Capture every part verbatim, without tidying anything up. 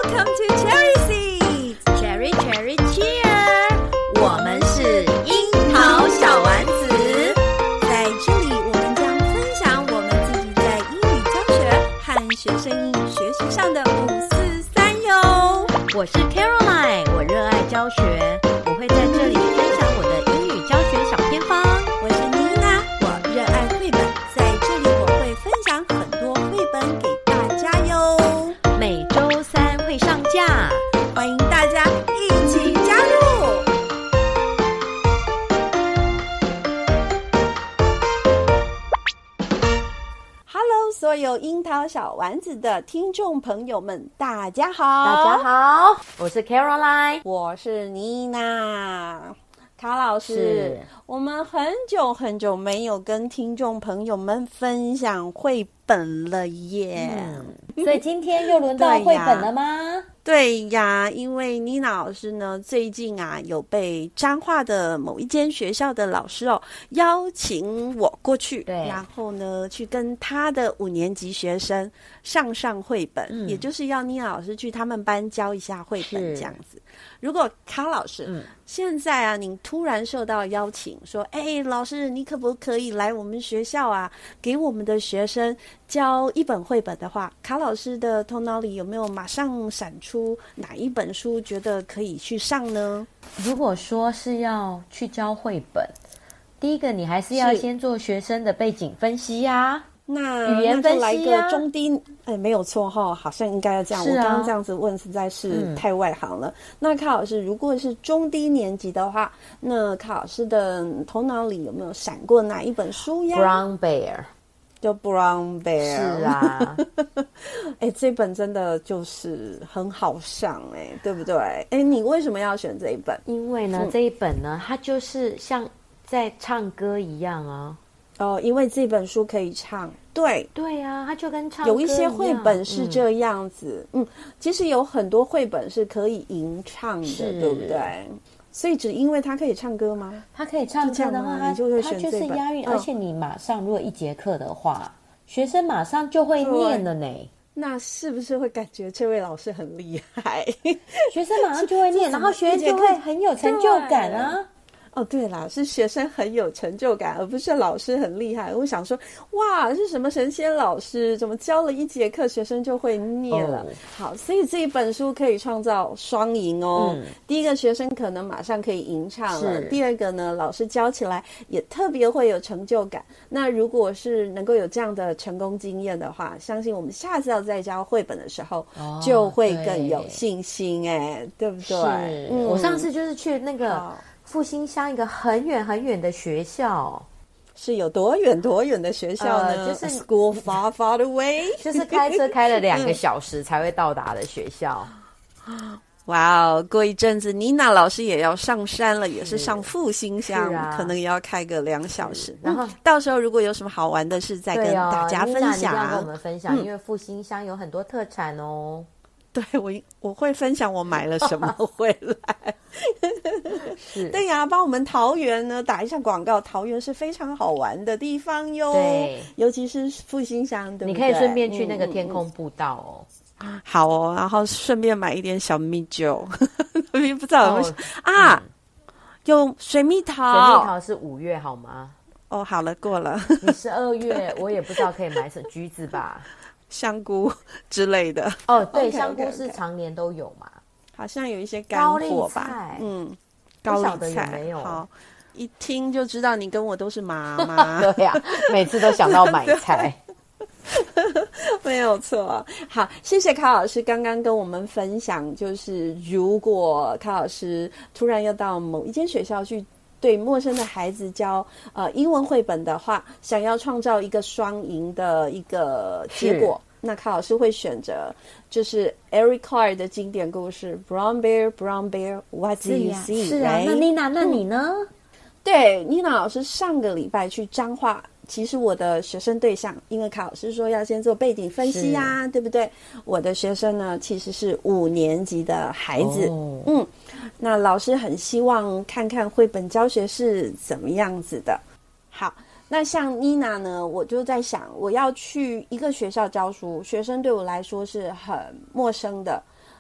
Welcome to Cherry Seeds, Cherry Cherry Cheer。我們是櫻桃小丸子，在這裡我們將分享我們自己在英語教學和學生英語學習上的五四三喲。我是 Caroline， 我熱愛教學，我會在這裡分享我的英語教學小偏方。我是妮娜，我熱愛繪本，在這裡我會分享很多繪本給大家喲。每週三會上架，歡迎大家一起加入。Hello， 所有櫻桃小丸子的聽眾朋友們，大家好！ 大家好，我是 Caroline， 我是妮娜。卡老師，我們很久很久沒有跟聽眾朋友們分享繪本了耶、 嗯、所以今天又輪到繪本了嗎？ 對呀，因為妮娜老師呢，最近啊有被彰化的某一間學校的老師哦邀請我過去，對，然後呢去跟他的五年級學生上上繪本、嗯，也就是要妮娜老師去他們班教一下繪本這樣子。如果卡老師、嗯、現在啊，您突然受到邀請，說，哎，老師，你可不可以來我們學校啊，給我們的學生教一本繪本的話，卡老師的頭腦裡有沒有馬上閃出哪一本書覺得可以去上呢？ 如果說是要去教繪本，第一個你還是要先做學生的背景分析呀、啊。 那語言分析、啊、 那就來個中低，哎，沒有錯哈，好像應該要這樣。啊、我剛剛這樣子問實在是太外行了。嗯、那卡老師，如果是中低年級的話，那卡老師的頭腦裡有沒有閃過哪一本書呀 ？Brown Bear， 就 Brown Bear。 是啊， 哎，這本真的就是很好上哎，對不对？哎，你為什麼要選這一本？ 因為呢，嗯、這一本呢，它就是像在唱歌一樣啊。 哦，因為這本書可以唱，對對啊，它就跟唱歌一樣。 有一些繪本是這樣子，嗯，嗯其實有很多繪本是可以吟唱的，對不對？所以只因為它可以唱歌嗎？ 它可以唱歌的話，它就會選這本，它就是押韻、嗯，而且你馬上如果一節課的話，學生馬上就會念了呢。 那是不是會感覺這位老師很厲害？ 學生馬上就會念，然後學生就會很有成就感啊。 哦，對啦，是學生很有成就感，而不是老師很厲害。我想說，哇，是什麼神仙老師？怎麼教了一節課，學生就會念了？哦、好，所以這一本書可以創造雙贏哦、嗯。第一個，學生可能馬上可以吟唱了；第二個呢，老師教起來也特別會有成就感。那如果是能夠有這樣的成功經驗的話，相信我們下次要再教繪本的時候，哦、就會更有信心哎，對不對？是、嗯、 我上次就是去那個。復興鄉一個很遠很遠的學校， 是有多遠多遠的學校呢？ 呃、就是 A school far far away， 就是開車開了兩個小時才會到達的學校。 哇哦！過一陣子，妮娜老師也要上山了，也是上復興鄉、啊，可能也要開個兩小時。然後、嗯、到時候如果有什麼好玩的事，再跟大家分享。妮娜，你要跟我們分享，嗯、因為復興鄉有很多特產哦。 對，我我會分享我買了什麼回來。是，對呀，幫我們桃園呢打一下廣告。桃園是非常好玩的地方喲，對，尤其是復興鄉，對不對？ 你可以順便去那個天空步道哦。 嗯嗯、好哦，然後順便買一點小蜜酒。不知道有沒有、哦、啊、嗯？有水蜜桃， 水蜜桃是五月好嗎？ 哦，好了，過了。 你十二月，我也不知道可以買什麼橘子吧。 香菇之類的哦，對， okay, okay, okay. 香菇是常年都有嘛， 好像有一些乾貨吧，嗯，高麗菜有沒有？好，一聽就知道你跟我都是媽媽， 對呀、啊，每次都想到買菜， 沒有錯。好，謝謝卡老師剛剛跟我們分享，就是如果卡老師突然要到某一間學校去對陌生的孩子教呃英文繪本的話，想要創造一個雙贏的一個結果，那卡老師會選擇就是 Eric Carle 的經典故事 Brown Bear, Brown Bear, What do you see? 是啊， right? 那妮娜，那你呢？嗯、對， 妮娜老師上個禮拜去彰化。其實我的學生對象，因為卡老師說要先做背景分析呀、啊，對不對？我的學生呢，其實是五年級的孩子。哦、嗯，那老師很希望看看繪本教學是怎麼樣子的。好，那像妮娜呢，我就在想，我要去一個學校教書，學生對我來說是很陌生的。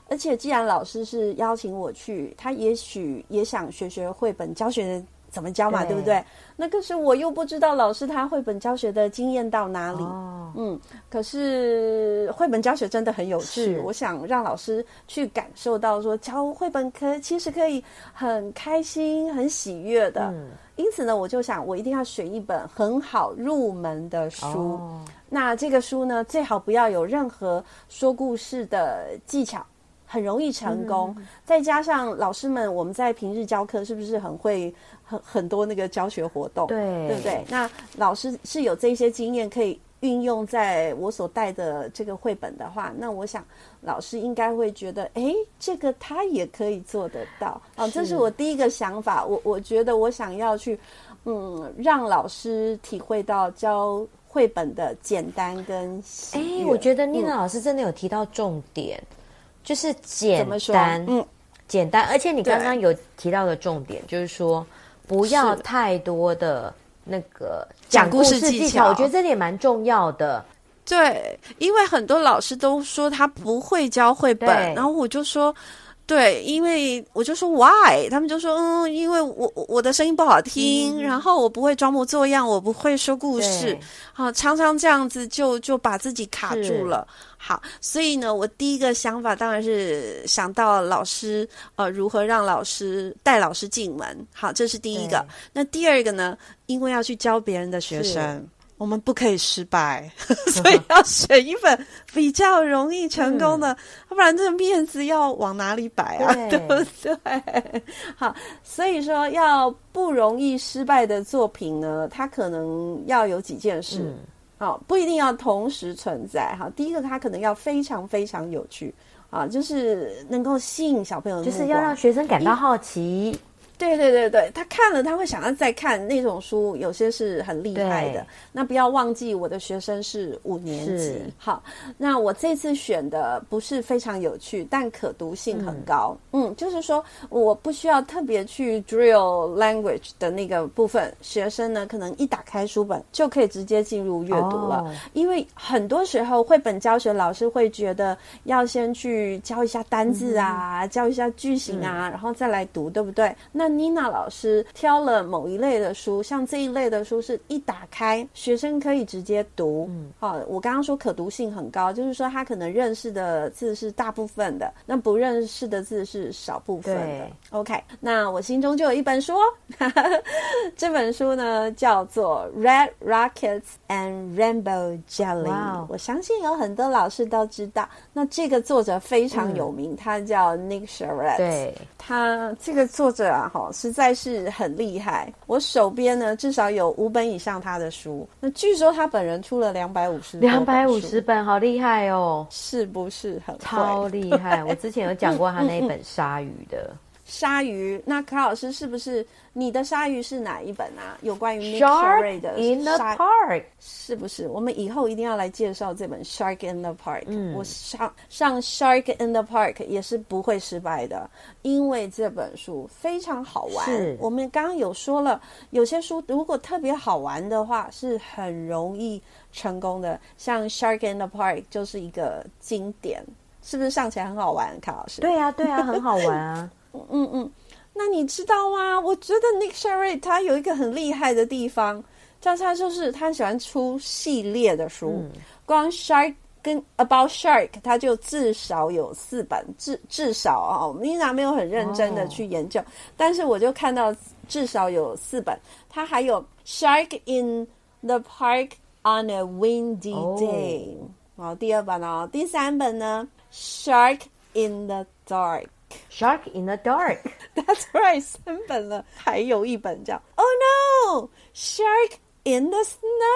而且既然老師是邀請我去，他也許也想學學繪本教學怎麼教嘛， 對, 對不對？那可是我又不知道老師他繪本教學的經驗到哪裡。哦、嗯，可是繪本教學真的很有趣，我想讓老師去感受到說教繪本可其實可以很開心、很喜悅的。嗯、因此呢，我就想我一定要選一本很好入門的書。哦、那這個書呢，最好不要有任何說故事的技巧。很容易成功，嗯、再加上老師們，我們在平日教課是不是很會很很多那個教學活動，對對不對？那老師是有這些經驗可以運用在我所帶的這個繪本的話，那我想老師應該會覺得，哎，這個他也可以做得到啊！這是我第一個想法。我我覺得我想要去，嗯，讓老師體會到教繪本的簡單跟喜悅。哎， 我覺得妮娜老師真的有提到重點。嗯就是簡單，嗯，簡單，而且你剛剛有提到的重點，就是說不要太多的那個講故事技巧，我覺得這點蠻重要的。 對，因為很多老師都說他不會教繪本，然後我就說。對，因為我就說 why， 他們就說嗯，因為我我的聲音不好聽，嗯、然後我不會裝模作樣，我不會說故事，好，常常這樣子就就把自己卡住了。好，所以呢，我第一個想法當然是想到老師呃如何讓老師帶老師進門。好，這是第一個。那第二個呢，因為要去教別人的學生。我們不可以失敗，所以要選一本比較容易成功的，嗯、要不然這個面子要往哪裡擺啊？對，對不對？好，所以說要不容易失敗的作品呢，它可能要有幾件事，嗯、好，不一定要同時存在。好，第一個它可能要非常非常有趣啊，就是能夠吸引小朋友的目光， 就是要讓學生感到好奇。 對對對對，他看了他會想要再看那種書，有些是很厲害的。那不要忘記我的學生是五年級。好，那我這次選的不是非常有趣，但可讀性很高。嗯，嗯，就是說我不需要特別去 drill language 的那個部分，學生呢可能一打開書本就可以直接進入閱讀了。哦、因為很多時候繪本教學老師會覺得要先去教一下單字啊，嗯、教一下句型啊，嗯、然後再來讀，對不對？那妮娜老師挑了某一類的書，像這一類的書是一打開學生可以直接讀。嗯，好，我剛剛說可讀性很高，就是說他可能認識的字是大部分的，那不認識的字是少部分的。對 OK， 那我心中就有一本書哦，這本書呢叫做 Red Rockets and Rainbow Jelly。Wow， 我相信有很多老師都知道。那這個作者非常有名，嗯、他叫 Nick Sharett。對，他這個作者啊。實在是很厲害，我手邊呢至少有五本以上他的書。那據說他本人出了兩百五十兩百五十本，好厲害哦！ 是不是很超厲害？我之前有講過他那一本鯊魚的。 鯊魚，那柯老師是不是你的鯊魚是哪一本啊？有關於 Nick Sharett 的 Shark in the Park， 是不是？我們以後一定要來介紹這本 Shark in the Park。嗯，我上上 Shark in the Park 也是不會失敗的，因為這本書非常好玩。是，我們剛剛有說了，有些書如果特別好玩的話，是很容易成功的。像 Shark in the Park 就是一個經典，是不是上起來很好玩？柯老師？ 對啊，對啊，很好玩啊。 嗯嗯，那你知道嗎？我覺得 Nick Sharett 他有一個很厲害的地方，叫他就是他喜歡出系列的書。嗯、光 Shark 跟 About Shark 他就至少有四本，至至少啊，我們依然沒有很認真的去研究，哦、但是我就看到至少有四本。他還有 Shark in the Park on a Windy Day，好、哦，第二本哦，第三本呢 Shark in the Dark。Shark in the Dark That's right， 三本了，還有一本叫 Oh no Shark in the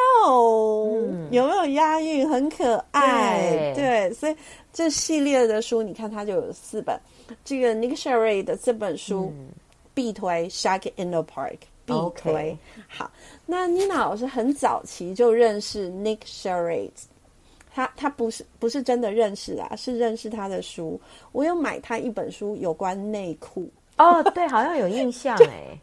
Snow、嗯、有沒有押韻？很可愛。 對, 對，所以這系列的書你看它就有四本。這個 Nick Sharett 的這本書、嗯、必推 Shark in the Park 必推。Okay. 好，那妮娜老師很早期就認識 Nick Sharett，他他不是不是真的認識啊，是認識他的書。我有買他一本書，有關內褲。 哦，對，好像有印象哎。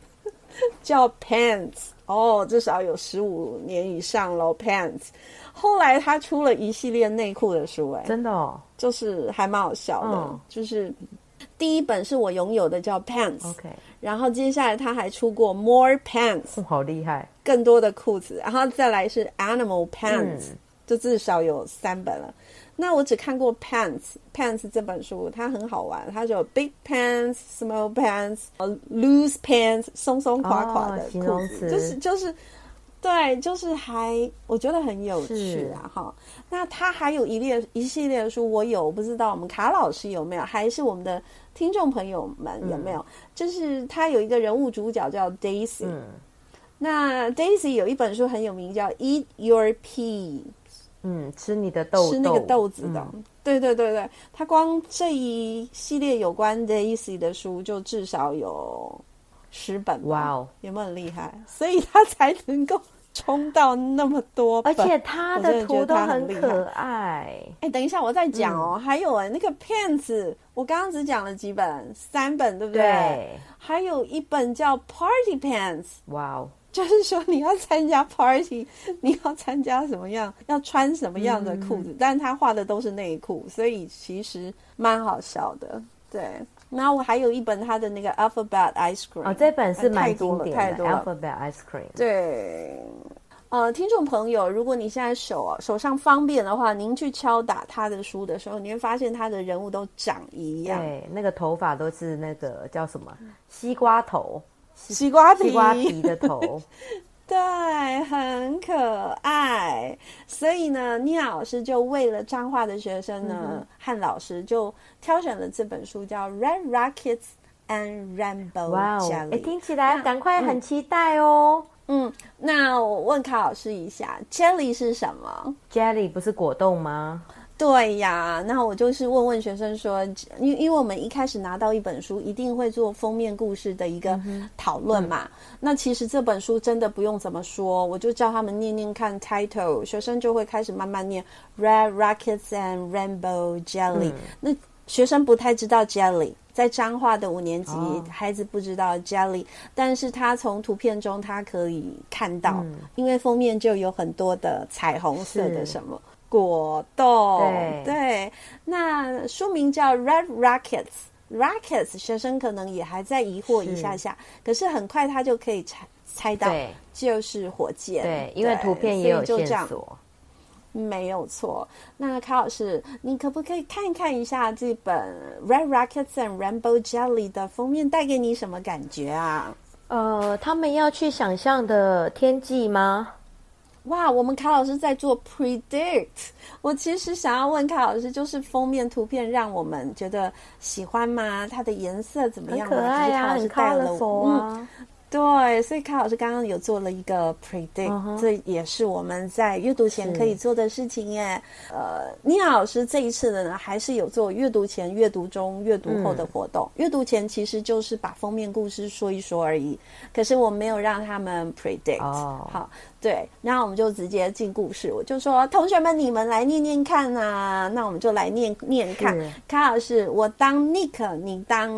叫 Pants， 哦，至少有十五年以上咯 Pants。後來他出了一系列內褲的書，哎， 真的哦， 就是還蠻好笑的， 嗯、 就是第一本是我擁有的叫 Pants，OK，、 okay. 然後接下來他還出過 More Pants，、 哦、好厲害， 更多的褲子，然後再來是 Animal Pants，、嗯、就至少有三本了。那我只看過 Pants Pants 這本書，它很好玩，它就有 Big Pants、Small Pants、Loose Pants， 鬆鬆垮垮的褲子，哦、就是就是對，就是還我覺得很有趣啊哈。那它還有一列一系列的書，我有，我不知道我們卡老師有沒有，還是我們的聽眾朋友們有沒有？嗯、就是它有一個人物主角叫 Daisy，、嗯、那 Daisy 有一本書很有名，叫 Eat Your Pea。 嗯，吃你的豆豆， 吃那個豆子的，嗯、對對对對，他光這一系列有關 Daisy 的書就至少有十本，哇哦，有沒有很厲害？所以他才能夠衝到那麼多本， 而且他的圖都很可愛。 哎，等一下我再講哦，嗯、還有哎，那個 Pants， 我剛剛只講了幾本，三本對不對？對，還有一本叫 Party Pants， 哇哦。就是說你要參加 party， 你要參加什麼樣，要穿什麼樣的褲子，嗯、但是他畫的都是內褲，所以其實蠻好笑的。對，然後我還有一本他的那個 Alphabet Ice Cream， 哦，這本是蠻經典的，太多了，太多了 Alphabet Ice Cream。對，呃，聽眾朋友，如果你現在手手上方便的話，您去敲打他的書的時候，你會發現他的人物都長一樣，對，那個頭髮都是那個叫什麼西瓜頭。西瓜皮，西瓜皮的頭，對，很可愛。所以呢，妮老師就為了彰化的學生呢，嗯、和老師就挑選了這本書，叫《Red Rockets and Rainbow Jelly》。哎，聽起來趕快很期待哦。嗯，嗯，那我問卡老師一下 ，Jelly 是什麼 ？Jelly 不是果凍嗎？對呀，那我就是問問學生說，因為因為我們一開始拿到一本書，一定會做封面故事的一個討論嘛。嗯、那其實這本書真的不用怎麼說，我就叫他們念念看 title， 學生就會開始慢慢念 Red Rockets and Rainbow Jelly、嗯。那學生不太知道 Jelly， 在彰化的五年級、哦、孩子不知道 Jelly， 但是他從圖片中他可以看到，嗯、因為封面就有很多的彩虹色的什麼。果凍，對，對，那書名叫 Red Rockets，Rockets， 學生可能也還在疑惑一下下，是可是很快他就可以猜猜到，就是火箭，對，對，因為圖片也有線索，沒有錯。那卡老師，你可不可以看看一下這本 Red Rockets and Rainbow Jelly 的封面帶給你什麼感覺啊？呃，他們要去想象的天際嗎？哇，我們卡老師在做 predict。我其實想要問卡老師，就是封面圖片讓我們覺得喜歡嗎？它的顏色怎麼樣？很可愛啊，很 colorful 啊。對，所以卡老師剛剛有做了一個 predict，、uh-huh. 這也是我們在閱讀前可以做的事情耶。呃，妮娜老師這一次的呢，還是有做閱讀前、閱讀中、閱讀後的活動。閱、嗯、讀前其實就是把封面故事說一說而已，可是我沒有讓他們 predict、oh. 好，對，那我們就直接進故事。我就說，同學們，你們來念念看啊。那我們就來念念看。卡老師，我當 Nick， 你當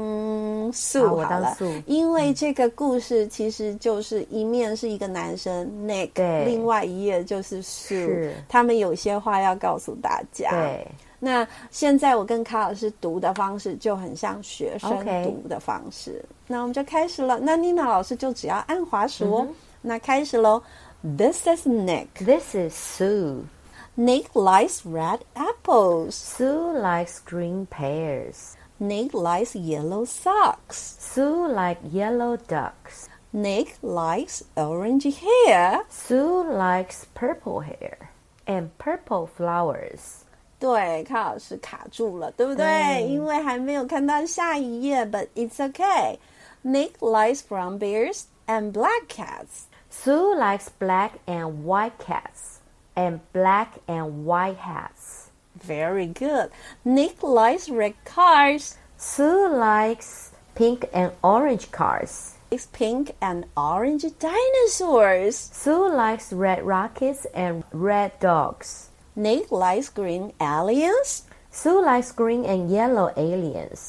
Sue 好了，我當 Sue，因為這個故事。其實就是一面是一個男生 Nick， 對，另外一頁就是 Sue， 他們有些話要告訴大家。對，那現在我跟卡老師讀的方式就很像學生讀的方式。Okay. 那我們就開始了。那妮娜老師就只要按滑鼠哦。Mm-hmm. 那開始嘍。This is Nick. This is Sue. Nick likes red apples. Sue likes green pears. Nick likes yellow socks. Sue likes yellow ducks. Nick likes orange hair. Sue likes purple hair and purple flowers. 对，卡老師卡住了，對不對？對，因為還沒有看到下一頁 but it's okay. Nick likes brown bears and black cats. Sue likes black and white cats and black and white hats. Very good. Nick likes red cars. Sue likes pink and orange cars. Likes pink and orange dinosaurs. Sue likes red rockets and red dogs. Nick likes green aliens. Sue likes green and yellow aliens.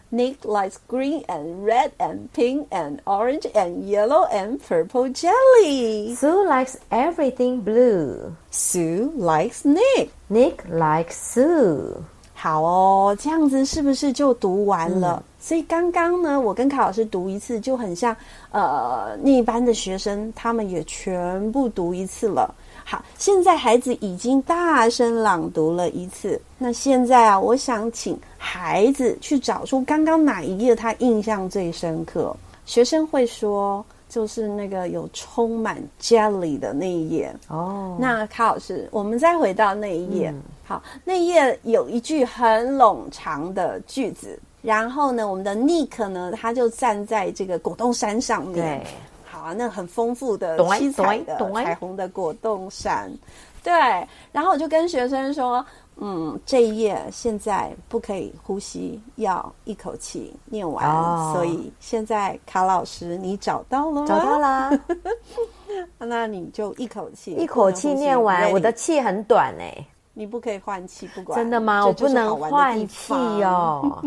Nick likes green and red and pink and orange and yellow and purple jelly. Sue likes everything blue. Sue likes Nick. Nick likes Sue. 好哦，這樣子是不是就讀完了？嗯、所以剛剛呢，我跟卡老師讀一次，就很像呃，那一班的學生他們也全部讀一次了。好，現在孩子已經大聲朗讀了一次。那現在啊，我想請孩子去找出剛剛哪一頁他印象最深刻。學生會說，就是那個有充滿 jelly 的那一頁。哦，那卡老師，我們再回到那一頁。嗯、好，那一頁有一句很冗長的句子，然後呢，我們的 Nick 呢，他就站在這個果凍山上面。 對。 好，那很豐富的七彩的彩虹的果凍山，對。然後我就跟學生說，嗯，這一頁現在不可以呼吸，要一口氣念完。哦、所以現在卡老師，你找到了嗎？ 找到啦。 那你就一口氣， 一口氣念完。Ready? 我的氣很短哎、欸， 你不可以換氣，不管。 真的嗎？我不能換氣哦。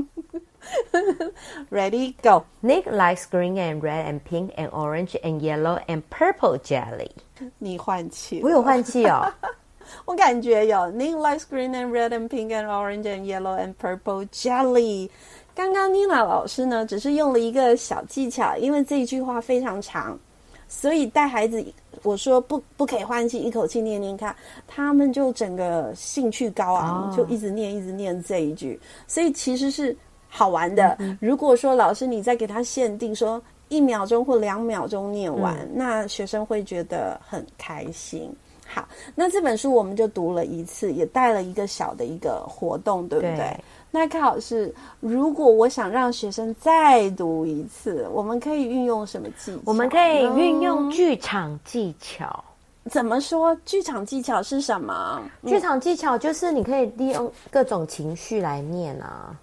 Ready, go. Nick likes green and red and pink and orange and yellow and purple jelly. 你換氣， 我有換氣哦。 我感覺有。Nick likes green and red and pink and orange and yellow and purple jelly. 剛剛妮娜老師呢，只是用了一個小技巧，因為這一句話非常長，所以帶孩子，我說不不可以換氣，一口氣念念看，他們就整個興趣高昂，哦、就一直念一直念這一句，所以其實是好玩的。嗯、如果說老師你再給他限定說一秒鐘或兩秒鐘念完，嗯、那學生會覺得很開心。好，那這本書我們就讀了一次，也帶了一個小的一個活動，對不對？對。那卡老師，如果我想讓學生再讀一次，我們可以運用什麼技巧？ 我們可以運用劇場技巧。 怎麼說？劇場技巧是什麼？ 劇場技巧就是你可以利用各種情緒來念啊。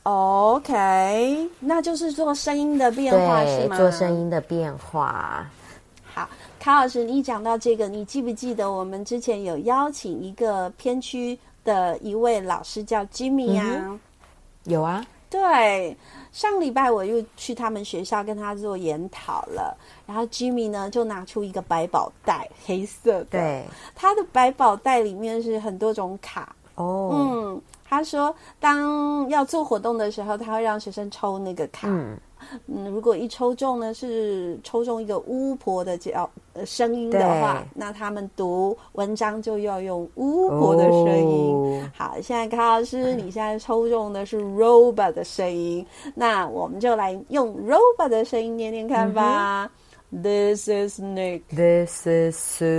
OK， 那就是做聲音的變化是嗎？ 做聲音的變化。 好，卡老師，你講到這個，你記不記得我們之前有邀請一個偏區的一位老師叫 Jimmy 啊？嗯、有啊。對，上禮拜我又去他們學校跟他做研討了，然後 Jimmy 呢就拿出一個百寶袋，黑色的。對，他的百寶袋裡面是很多種卡。哦，嗯。他說，當要做活動的時候，他會讓學生抽那個卡。嗯，嗯如果一抽中呢，是抽中一個巫婆的叫呃聲音的話，那他們讀文章就要用巫婆的聲音。哦、好，現在卡老師，你現在抽中的是 robot 的聲音，嗯、那我們就來用 robot 的聲音念念看吧。嗯、This is Nick. This is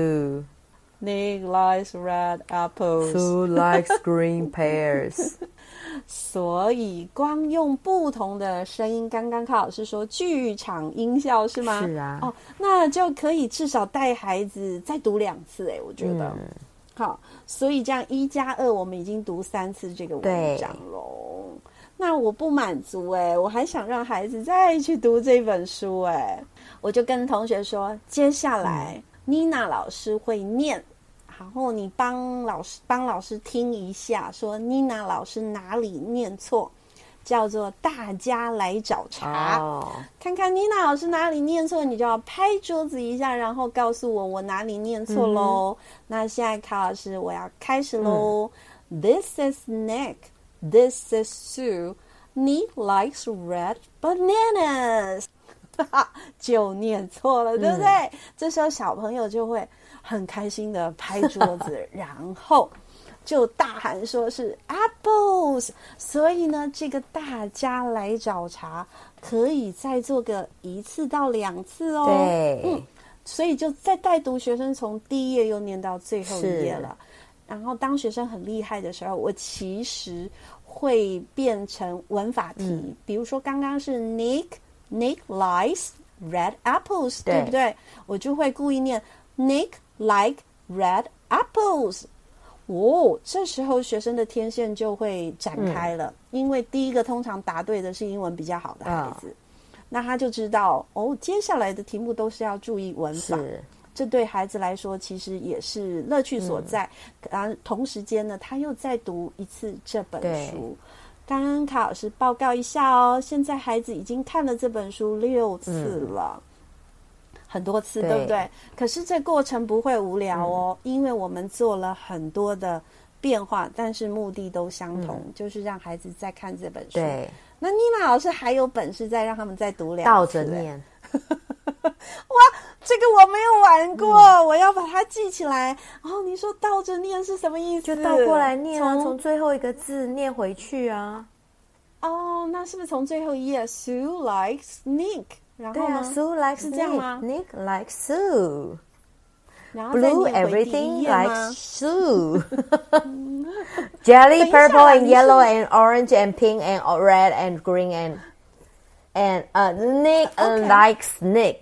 Sue.Nick likes red apples. Sue likes green pears. 所以光用不同的聲音，剛剛卡老師說劇場音效是嗎？ 是啊。 哦，那就可以至少帶孩子再讀兩次哎，我覺得。嗯、好，所以這樣一加二，我們已經讀三次這個文章嘍。那我不滿足哎，我還想讓孩子再去讀這本書哎，我就跟同學說，接下來。嗯妮娜老師會念，然後你幫老師幫老師聽一下，說妮娜老師哪裡念錯，叫做大家來找茬。哦、看看妮娜老師哪裡念錯，你就要拍桌子一下，然後告訴我我哪裡念錯嘍。嗯、那現在卡老師我要開始嘍。嗯、This is Nick. This is Sue. Nick likes red bananas.就念錯了，對不對？嗯、這時候小朋友就會很開心的拍桌子，然後就大喊說是 apples。所以呢，這個大家來找茬可以再做個一次到兩次哦。對，嗯，所以就再帶讀學生從第一頁又念到最後一頁了。然後當學生很厲害的時候，我其實會變成文法題，嗯、比如說剛剛是 Nick。Nick likes red apples， 對，對不對？我就會故意念 Nick like red apples。哦，這時候學生的天線就會展開了，嗯、因為第一個通常答對的是英文比較好的孩子，哦、那他就知道哦，接下來的題目都是要注意文法。是，這對孩子來說其實也是樂趣所在。嗯、然後同時間呢，他又再讀一次這本書。 剛剛卡老師報告一下哦，現在孩子已經看了這本書六次了，嗯、很多次，對，對不對？可是這過程不會無聊哦，嗯、因為我們做了很多的變化，但是目的都相同，嗯、就是讓孩子再看這本書。對，那妮娜老師還有本事再讓他們再讀兩次， 倒着念。 哇，這個我沒有玩過，嗯、我要把它記起來。哦，你說倒着念是什麼意思？ 就倒過來念啊，從，從最後一個字念回去啊。 哦，那是不是從最後一頁 Sue likes Nick？ 然後呢？ 對啊，Sue likes 是這樣嗎 Nick， Nick likes Sue。 然後再念 Blue everything 嗎 likes Sue。Jelly purple and yellow and orange and pink and red and green and and uh Nick Okay. likes Nick。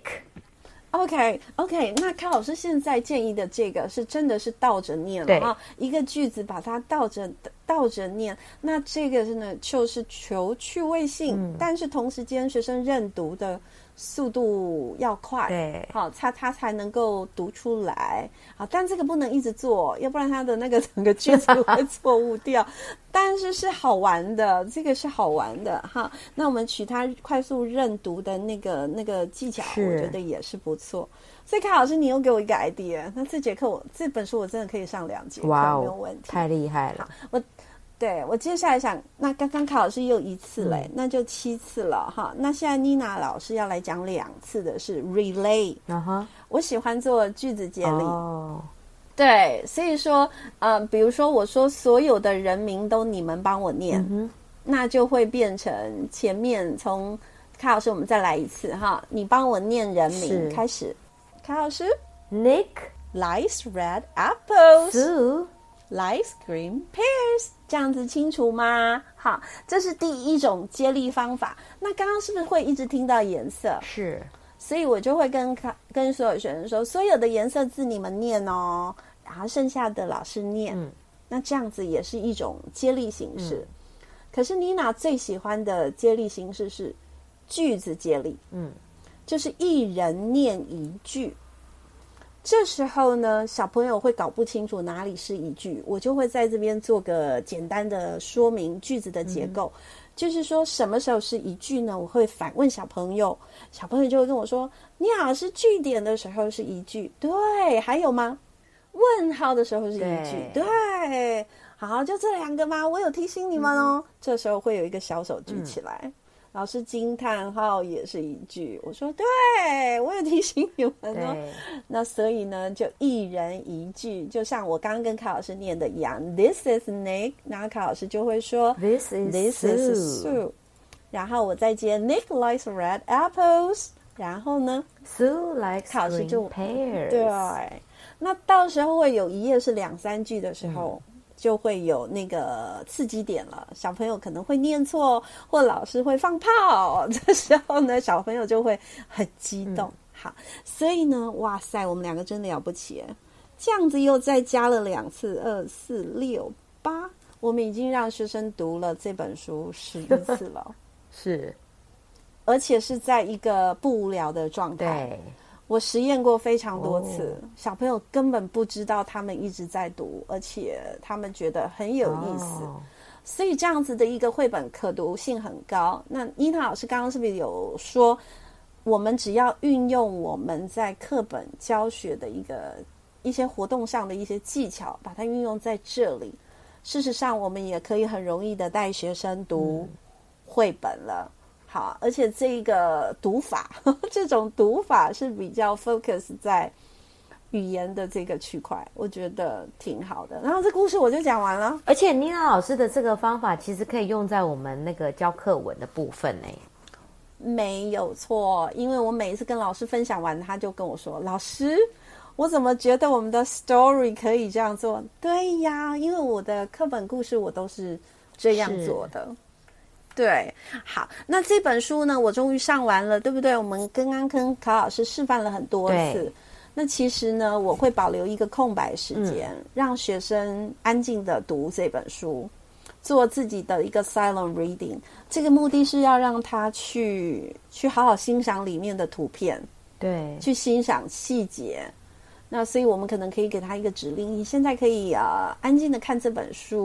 OK OK， 那卡老師現在建議的這個是真的是倒着念了啊，一個句子把它倒着倒着念。那這個是呢，就是求趣味性，嗯、但是同時間學生認讀的速度要快， 對， 好，他他才能夠讀出來。好，但這個不能一直做，要不然他的那個整個句子會錯誤掉。但是是好玩的，這個是好玩的哈。那我們取他快速認讀的那個那個技巧，我覺得也是不錯。所以卡老師，你又給我一個 idea， 那這節課我這本書我真的可以上兩節課，哇沒有問題， 太厲害了。 我。對，我接下來想，那剛剛卡老師也有一次嘞，嗯、那就七次了哈。那現在妮娜老師要來講兩次的是 relay，、uh-huh. 我喜歡做句子接力。哦，對，所以說，呃，比如說我說所有的人名都你們幫我念，嗯、那就會變成前面從卡老師，我們再來一次哈，你幫我念人名開始。卡老師 ，Nick likes red apples。 Sue likes green pears， 這樣子清楚嗎？好，這是第一種接力方法。那剛剛是不是會一直聽到顏色？ 是，所以我就會跟跟所有學生說，所有的顏色字你們念哦，然後剩下的老師念。嗯，那這樣子也是一種接力形式。嗯、可是妮娜最喜歡的接力形式是句子接力。嗯，就是一人念一句。這時候呢，小朋友會搞不清楚哪裡是一句，我就會在這邊做個簡單的說明句子的結構。嗯、就是說什麼時候是一句呢？我會反問小朋友，小朋友就會跟我說：“你好，是句點的時候是一句，對，還有嗎？問號的時候是一句，對，對，好，就這兩個嗎？我有提醒你們哦。嗯”這時候會有一個小手舉起來。嗯老師驚嘆號也是一句，我說對，我有提醒你們哦。那所以呢，就一人一句，就像我剛剛跟卡老師念的一樣 ，This is Nick， 然後卡老師就會說 This is This is Sue， 然後我再接 Nick likes red apples， 然後呢 Sue likes green pears。 對，那到時候會有一頁是兩三句的時候。嗯就會有那個刺激點了，小朋友可能會念錯，或老師會放炮，這時候呢，小朋友就會很激動。嗯、好，所以呢，哇塞，我們兩個真的了不起，這樣子又再加了兩次，二四六八，我們已經讓學生讀了這本書十一次了， 是， 而且是在一個不無聊的狀態。對。我實驗過非常多次，哦、小朋友根本不知道他們一直在讀，而且他們覺得很有意思，哦、所以這樣子的一個繪本可讀性很高。那妮娜老師剛剛是不是有說，我們只要運用我們在課本教學的一個一些活動上的一些技巧，把它運用在這裡，事實上我們也可以很容易的帶學生讀繪本了。嗯好，而且這個讀法，呵呵這種讀法是比較 focus 在語言的這個區塊，我覺得挺好的。然後這故事我就講完了。 而且妮娜老師的這個方法其實可以用在我們那個教課文的部分呢。 沒有錯，因為我每一次跟老師分享完，他就跟我說：“老師，我怎麼覺得我們的 story 可以這樣做？”對呀，因為我的課本故事我都是這樣做的。對，好，那這本書呢，我終於上完了，對不對？我們剛剛跟卡老師示範了很多次。那其實呢，我會保留一個空白時間，嗯、讓學生安靜的讀這本書，做自己的一個 silent reading。這個目的是要讓他去去好好欣賞裡面的圖片，對，去欣賞細節。那所以我們可能可以給他一個指令：你現在可以呃安靜的看這本書。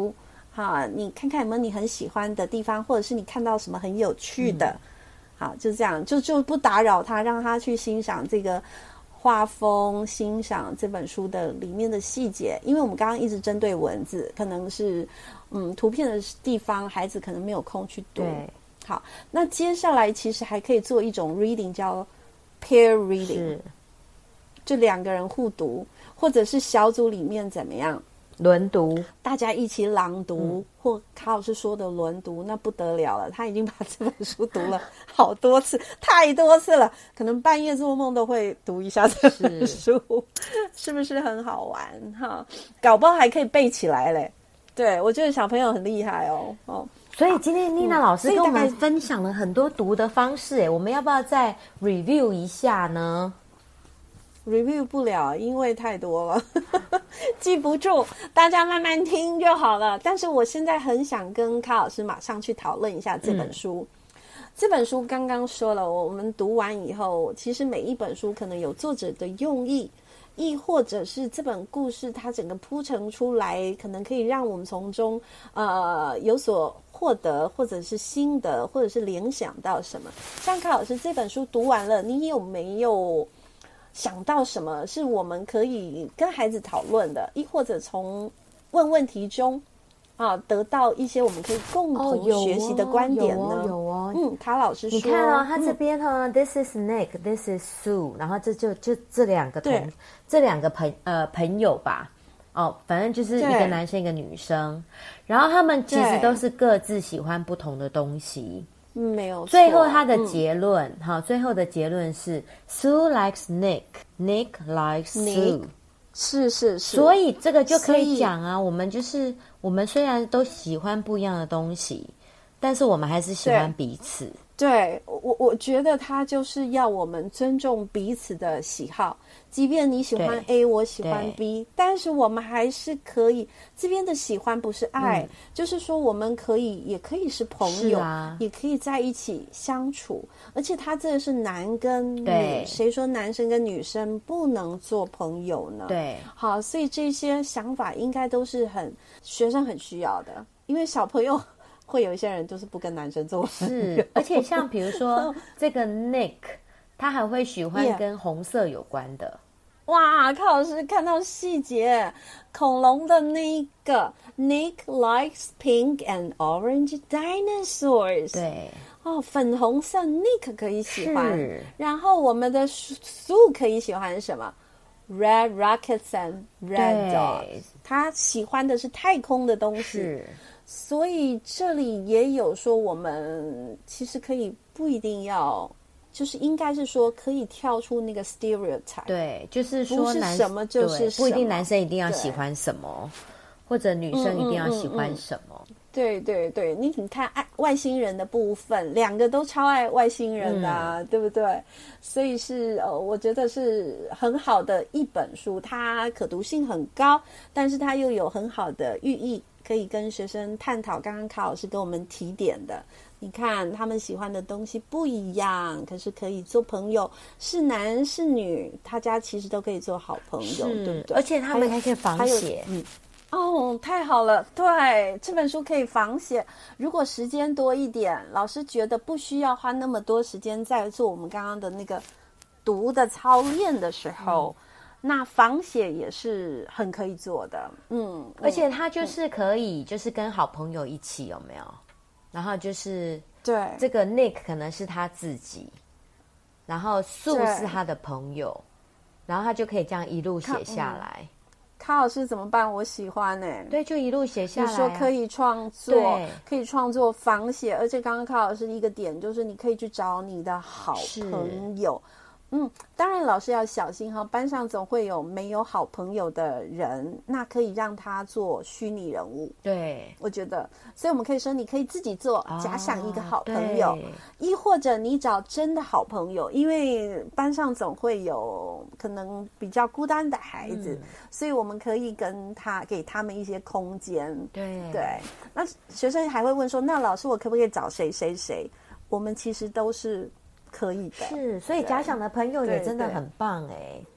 好，你看看有沒有你很喜歡的地方，或者是你看到什麼很有趣的。嗯、好，就這樣，就就不打擾他，讓他去欣賞這個畫風，欣賞這本書的裡面的細節。因為我們剛剛一直針對文字，可能是嗯圖片的地方，孩子可能沒有空去讀。 對， 好，那接下來其實還可以做一種 reading， 叫 pair reading， 就兩個人互讀，或者是小組裡面怎麼樣？ 輪讀，大家一起朗讀，嗯、或卡老師說的輪讀，那不得了了。他已經把這本書讀了好多次，太多次了，可能半夜做夢都會讀一下這本書，是，是不是很好玩哈？搞不好還可以背起來嘞。對，我覺得小朋友很厲害哦哦。 所以今天妮娜老師跟我們分享了很多讀的方式，哎、嗯，我們要不要再 review 一下呢 ？review 不了，因為太多了記不住，大家慢慢聽就好了。但是我現在很想跟卡老師馬上去討論一下這本書、嗯、這本書剛剛說了，我們讀完以後，其實每一本書可能有作者的用意，亦或者是這本故事它整個鋪陳出來，可能可以讓我們從中呃有所獲得，或者是心得，或者是聯想到什麼。像卡老師這本書讀完了，你有沒有想到什麼是我們可以跟孩子討論的，亦或者從問問題中啊得到一些我們可以共同學習的觀點呢？ 哦、有哦，有哦， 嗯，卡老師說， 你看哦，他這邊哈、嗯、，This is Nick，This is Sue， 然後這就就這兩個同這兩個朋呃朋友吧，哦，反正就是一個男生一個女生，然後他們其實都是各自喜歡不同的東西。 嗯、沒有錯。 最後他的結論，哈、嗯，最後的結論是 Sue likes Nick，Nick likes Sue， 是是是。 所以這個就可以講啊，我們就是我們雖然都喜歡不一樣的東西，但是我們還是喜歡彼此。 對，對我我覺得他就是要我們尊重彼此的喜好。即便你喜歡 A， 我喜歡 B， 但是我們還是可以，這邊的喜歡不是愛、嗯、就是說我們可以也可以是朋友、啊、也可以在一起相處。而且他這個是男跟女，誰說男生跟女生不能做朋友呢？對，好，所以這些想法應該都是很學生很需要的，因為小朋友會有一些人就是不跟男生做朋友。 是，而且像比如說這個 Nick 他還會喜歡跟紅色有關的。Yeah. 哇，卡老師看到細節，恐龍的那一個 Nick likes pink and orange dinosaurs。對，哦，粉紅色 Nick 可以喜歡，然後我們的 Sue 可以喜歡什麼 ？Red rockets and red dogs。他喜歡的是太空的東西，是，所以這裡也有說，我們其實可以不一定要。就是應該是說可以跳出那個 stereotype， 對，就是說不是什麼就是什麼， 不一定男生一定要喜歡什麼，或者女生一定要喜歡什麼。嗯嗯嗯嗯、對對對，你你看愛外星人的部分，兩個都超愛外星人的、啊嗯，對不對？所以是呃，我覺得是很好的一本書，它可讀性很高，但是它又有很好的寓意，可以跟學生探討。剛剛卡老師跟我們提點的。你看他們喜歡的東西不一樣，可是可以做朋友，是男是女，大家其實都可以做好朋友，對不對？ 而且他們還可以仿寫， 嗯，哦，太好了，對，這本書可以仿寫。如果時間多一點，老師覺得不需要花那麼多時間在做我們剛剛的那個讀的操練的時候，嗯、那仿寫也是很可以做的，嗯， 而且他就是可以，就是跟好朋友一起，有沒有？然後就是對這個 Nick 可能是他自己，然後 Sue 是他的朋友，然後他就可以這樣一路寫下來。 卡老師怎麼辦？我喜歡呢、欸。 對，就一路寫下來、啊。 你說可以創作，可以創作仿寫，而且剛剛卡老師一個點就是你可以去找你的好朋友。嗯，當然老師要小心哈，班上總會有沒有好朋友的人，那可以讓他做虛擬人物。對，我覺得，所以我們可以說，你可以自己做，假想一個好朋友，亦、哦、或者你找真的好朋友，因為班上總會有可能比較孤單的孩子，嗯、所以我們可以跟他給他們一些空間。對對，那學生還會問說，那老師我可不可以找誰誰誰？我們其實都是。可以的， 是，所以假想的朋友也真的很棒哎。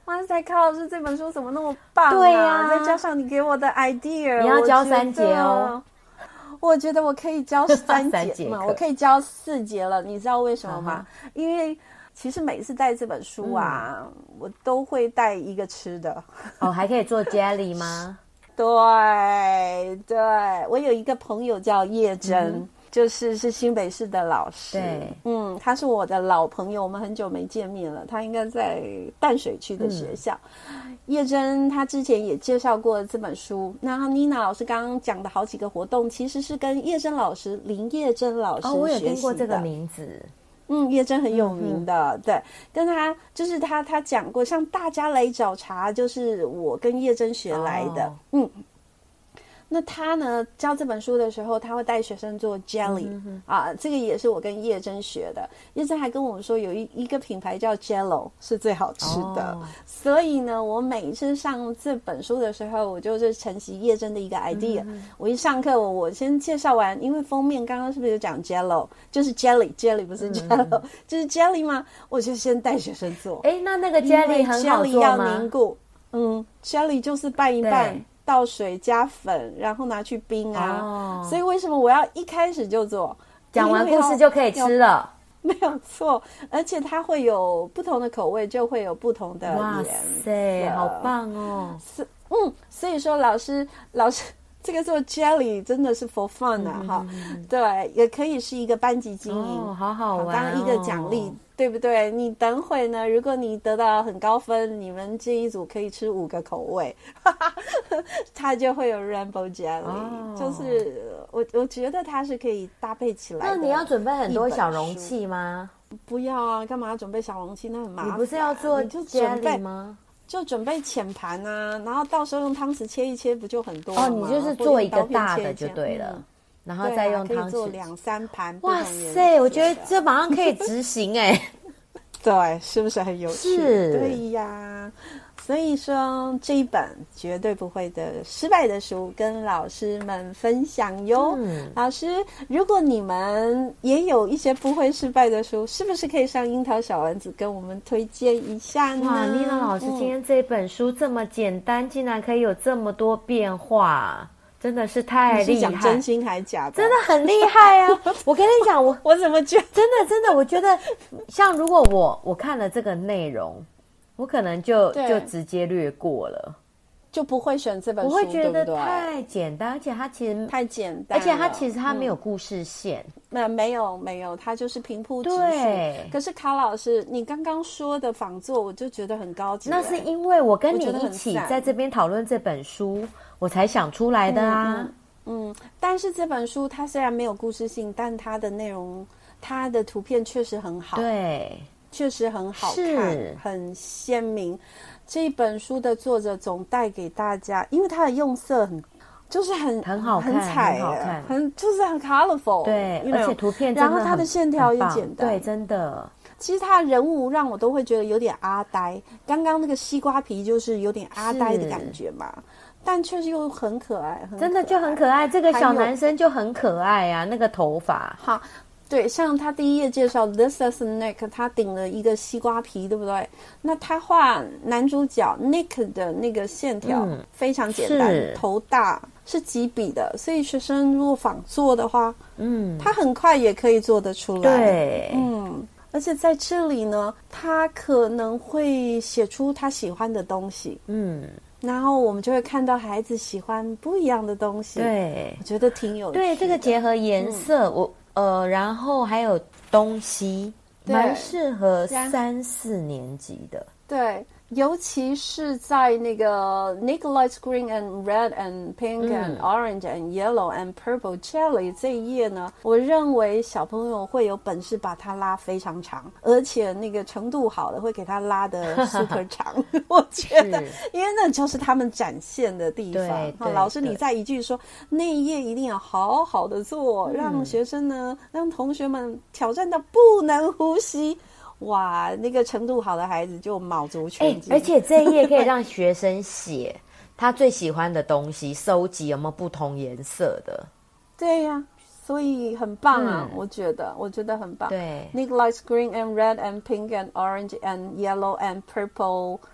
哇塞，卡老師這本書怎麼那麼棒啊？ 對啊， 再加上你給我的 idea， 你要教三節哦。 我覺得我可以教三節嘛，我可以教四節了。你知道為什麼嗎？uh-huh. 因為其實每次帶這本書啊，嗯、我都會帶一個吃的。 哦，還可以做 jelly 嗎？ 對對，我有一個朋友叫葉珍。嗯，就是是新北市的老師， 對， 嗯，他是我的老朋友，我們很久沒見面了。他應該在淡水區的學校。嗯、葉珍他之前也介紹過這本書。那妮娜老師剛剛講的好幾個活動，其實是跟葉珍老師林葉珍老師學習的。哦，我有聽過這個名字。嗯，葉珍很有名的，嗯、對，跟他就是他他講過，像大家來找茬，就是我跟葉珍學來的，哦、嗯。那他呢教這本書的時候，他會帶學生做 jelly、嗯、啊，這個也是我跟葉珍學的。葉珍還跟我們說，有一一個品牌叫 Jello 是最好吃的、哦，所以呢，我每次上這本書的時候，我就是承襲葉珍的一個 idea、嗯。我一上課，我我先介紹完，因為封面剛剛是不是有講 Jello， 就是 jelly，jelly 不是 Jello，、嗯、就是 jelly 嗎？我就先帶學生做。哎，那那個 jelly 很好做嗎？要凝固，嗯 ，jelly 就是拌一拌。倒水加粉，然後拿去冰啊、哦！所以為什麼我要一開始就做？ 講完故事就可以吃了， 沒有錯。而且它會有不同的口味，就會有不同的顏色。 哇塞，好棒哦！ 是，嗯，所以說老師，老師這個做 jelly 真的是 for fun 啊，哈、嗯，對，也可以是一個班級經營， 哦、好好玩、哦， 當一個獎勵。對不對？你等會呢？如果你得到很高分，你們這一組可以吃五個口味，它就會有 rainbow jelly、哦。就是我我覺得它是可以搭配起來的。 那你要準備很多小容器嗎？ 不要啊，幹嘛要準備小容器？那很麻煩。 你不是要做 jelly 嗎？ 就準備淺盤啊，然後到時候用湯匙切一切，不就很多了嗎？ 哦，你就是做一個大的就對了。嗯，然後再用湯匙、啊、可以做兩三盤。哇塞， 我覺得這馬上可以執行哎、欸。 對，是不是很有趣？ 是， 對呀。所以說這一本絕對不會的失敗的書，跟老師們分享喲。嗯，老師，如果你們也有一些不會失敗的書，是不是可以上櫻桃小丸子跟我們推薦一下呢？ 哇，妮娜老師，今天這本書這麼簡單，嗯，竟然可以有這麼多變化。真的是太厲害！你是講真心還假的？真的很厲害啊！我跟你講，我我怎麼覺得真的真的，我覺得像如果我我看了這個內容，我可能就就直接略過了， 就不會選這本書。 我會覺得太簡單，而且它其實太簡單， 而且它其實它沒有故事線。 那、嗯、沒有沒有，它就是平鋪直敘。對。可是卡老師，你剛剛說的仿作，我就覺得很高級。 那是因為我跟你一起在這邊討論這本書，我才想出來的啊。 嗯，嗯，嗯，但是這本書它雖然沒有故事性，但它的內容，它的圖片確實很好。 對， 確實很好看，很鮮明。這本書的作者總帶給大家，因為它的用色很。就是很很好看， 很彩， 很好看， 很就是很 colorful， 對，而且圖片真的， 然後它的線條也簡單， 對，真的。 其實它的人物讓我都會覺得有點阿呆，剛剛那個西瓜皮就是有點阿呆的感覺嘛，但確實又很可愛，很可愛，真的就很可愛。這個小男生就很可愛啊，那個頭髮， 好。對，像他第一頁介紹 This is Nick， 他頂了一個西瓜皮，對不對？那他畫男主角 Nick 的那個線條非常簡單，嗯、頭大，是幾筆的，所以學生如果仿做的話，嗯，他很快也可以做得出來。 對， 嗯，而且在這裡呢，他可能會寫出他喜歡的東西，嗯，然後我們就會看到孩子喜歡不一樣的東西。對，我覺得挺有趣的。 對，這個結合顏色，嗯、我。呃，然後還有東西，蠻適合三四年級的。 對，尤其是在那個 Nick likes green and red and pink and orange and yellow and purple jelly 這一頁呢，我認為小朋友會有本事把它拉非常長，而且那個程度好的會給它拉得 super 長。我覺得，因為那就是他們展現的地方。對對，老師你再一句說那一頁一定要好好的做，讓學生呢，讓同學們挑戰到不能呼吸。哇，那個程度好的孩子就卯足全勁， 欸，而且這一頁可以讓學生寫他最喜歡的東西，收集有沒有不同顏色的。 對呀，啊，所以很棒啊，嗯，我覺得，我覺得很棒。 對 ，Nick likes green and red and pink and orange and yellow and purple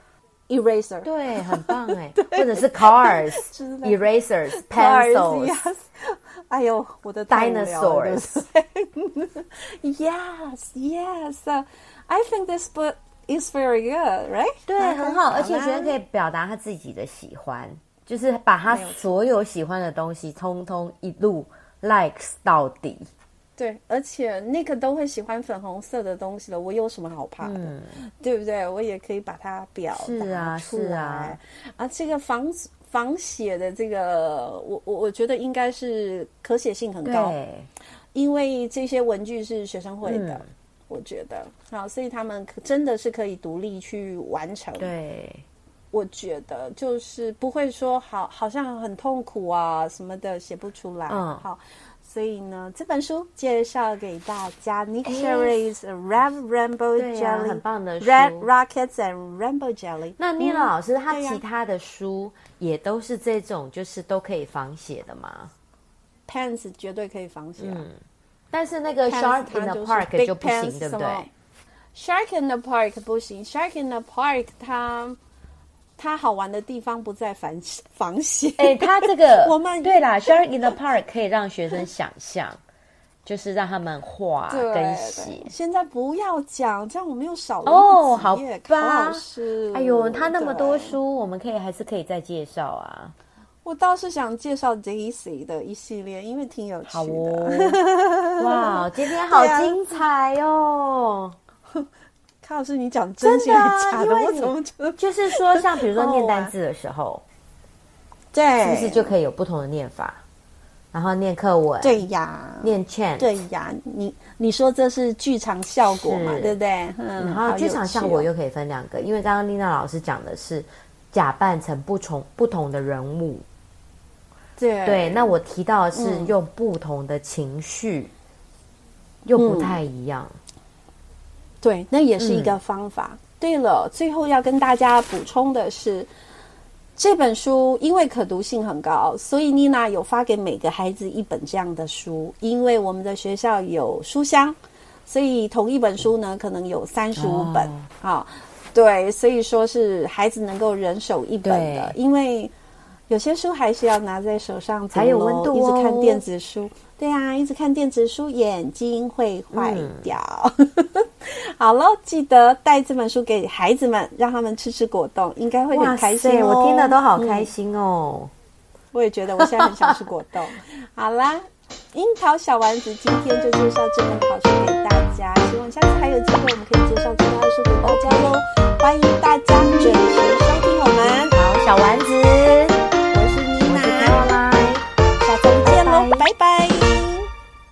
eraser， 對，很棒哎，或者是 cars erasers pencils， yes. 哎呦，我的 dinosaurs， yes yes，uh, I think this book is very good, right？ 對，很好，而且学生可以表達他自己的喜歡，就是把他所有喜歡的東西通通一路 likes 到底。 對，而且那個都會喜歡粉紅色的東西了，我有什麼好怕的？嗯、對不對？我也可以把它表達出來。是啊，是啊。啊，這個仿仿寫的這個，我我我覺得應該是可寫性很高，對，因為這些文具是學生會的，嗯、我覺得好，所以他們真的是可以獨立去完成。對，我覺得就是不會說好，好像很痛苦啊什麼的，寫不出來。嗯，好。所以呢，這本書介紹給大家 ，Nick Cherry's Red Rainbow Jelly，、啊、很棒的書 ，Red Rockets and Rainbow Jelly。 那Nina老師，他、嗯、其他的書也都是這種，就是都可以仿寫的嗎 ？Pens 絕對可以仿寫、啊嗯， 但是那個 Shark in the Park 就不行，對不對 ？Shark in the Park 不行 ，Shark in the Park 它。它好玩的地方不在仿仿寫， 哎，它這個我們對啦 ，Shark in the Park 可以讓學生想象，就是讓他們畫跟寫。 現在不要講，這樣我們又少了哦，好吧。 老師， 哎呦，他那麼多書，我們可以還是可以再介紹啊。 我倒是想介紹 Daisy 的一系列，因為挺有趣的。好哦，哇，今天好精彩哦。 卡老師，你講真心還是假的？ 我怎麼覺得就是說，像比如說念單字的時候， 對， 是不是就可以有不同的念法？然後念課文， 對呀， 念 chant， 對呀。你你說這是劇場效果嘛？對不對？嗯。 然後劇場效果又可以分兩個，因為剛剛麗娜老師講的是假扮成不同不同的人物， 對對。那我提到的是用不同的情緒，又不太一樣。 對，那也是一個方法。嗯、對了，最後要跟大家補充的是，這本書因為可讀性很高，所以妮娜有發給每個孩子一本這樣的書。因為我們的學校有書香，所以同一本書呢，可能有三十五本。好、哦哦，對，所以說是孩子能夠人手一本的，因為有些書還是要拿在手上才有溫度、哦、一直看電子書。對啊，一直看電子書，眼睛會壞掉。嗯、好了，記得帶這本書給孩子們，讓他們吃吃果凍，應該會很開心哦。 我聽了都好開心哦、嗯。 我也覺得，我現在很想吃果凍。好啦，櫻桃小丸子今天就介紹這本好書給大家，希望下次還有機會，我們可以介紹其他的書給大家嘍。歡迎大家準時收聽我們好小丸子。